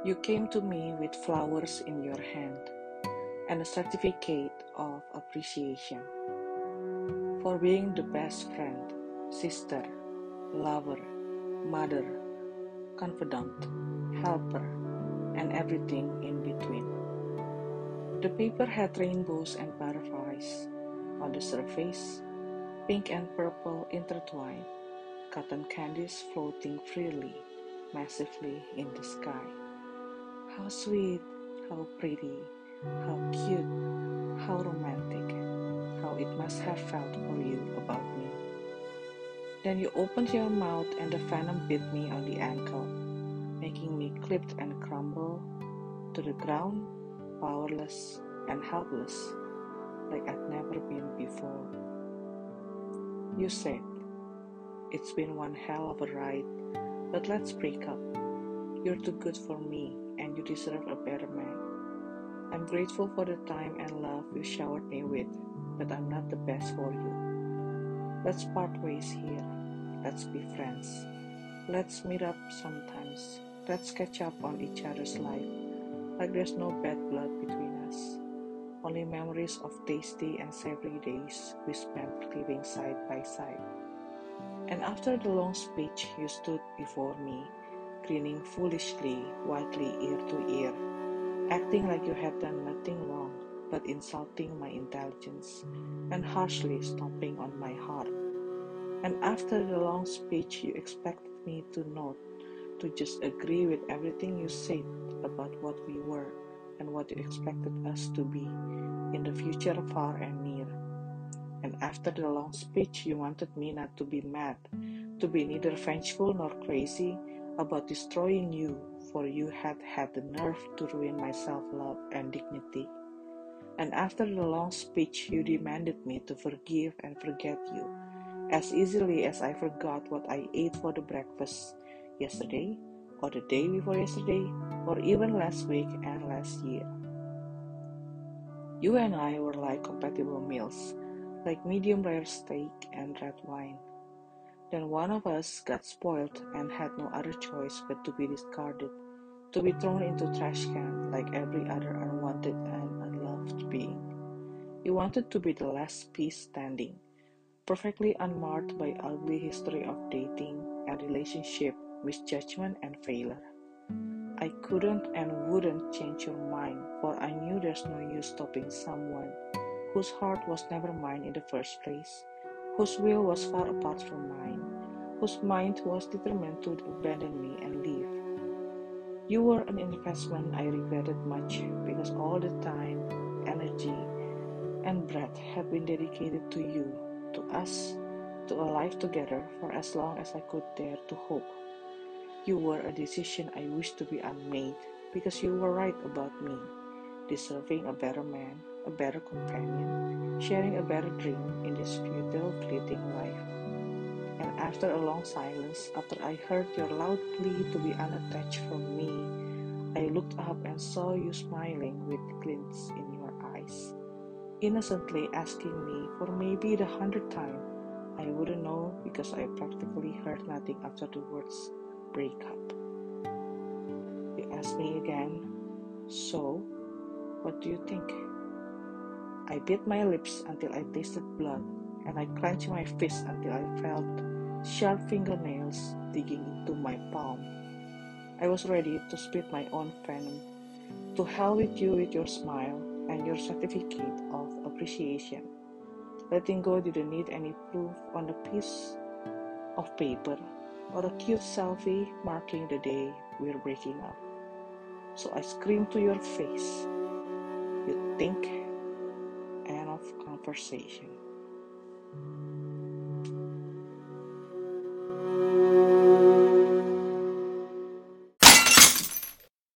You came to me with flowers in your hand and a certificate of appreciation for being the best friend, sister, lover, mother, confidant, helper, and everything in between. The paper had rainbows and butterflies on the surface, pink and purple intertwined, cotton candies floating freely, massively in the sky. How sweet, how pretty, how cute, how romantic, how it must have felt for you about me. Then you opened your mouth and the venom bit me on the ankle, making me clipped and crumble to the ground, powerless and helpless, like I'd never been before. You said, "It's been one hell of a ride, but let's break up. You're too good for me, and you deserve a better man. I'm grateful for the time and love you showered me with, but I'm not the best for you. Let's part ways here. Let's be friends. Let's meet up sometimes. Let's catch up on each other's life, like there's no bad blood between us. Only memories of tasty and savory days we spent living side by side." And after the long speech, you stood before me, grinning foolishly, widely ear to ear, acting like you had done nothing wrong, but insulting my intelligence and harshly stomping on my heart. And after the long speech, you expected me to nod, to just agree with everything you said about what we were and what you expected us to be in the future far and near. And after the long speech, you wanted me not to be mad, to be neither vengeful nor crazy about destroying you, for you had had the nerve to ruin my self-love and dignity. And after the long speech, you demanded me to forgive and forget you, as easily as I forgot what I ate for the breakfast yesterday, or the day before yesterday, or even last week and last year. You and I were like compatible meals, like medium rare steak and red wine. Then one of us got spoiled and had no other choice but to be discarded, to be thrown into trash can like every other unwanted and unloved being. You wanted to be the last piece standing, perfectly unmarred by ugly history of dating and relationship, misjudgment and failure. I couldn't and wouldn't change your mind, for I knew there's no use stopping someone whose heart was never mine in the first place, whose will was far apart from mine, whose mind was determined to abandon me and leave. You were an investment I regretted much, because all the time, energy, and breath had been dedicated to you, to us, to a life together for as long as I could dare to hope. You were a decision I wished to be unmade, because you were right about me, deserving a better man, a better companion, sharing a better dream in this futile, fleeting life. And after a long silence, after I heard your loud plea to be unattached from me, I looked up and saw you smiling with glints in your eyes, innocently asking me for maybe the 100th time. I wouldn't know, because I practically heard nothing after the words break up. You asked me again, "So, what do you think?" I bit my lips until I tasted blood, and I clenched my fists until I felt sharp fingernails digging into my palm. I was ready to spit my own venom. To hell with you with your smile and your certificate of appreciation. Letting go didn't need any proof on a piece of paper or a cute selfie marking the day we're breaking up. So I screamed to your face, "You think?" End of conversation.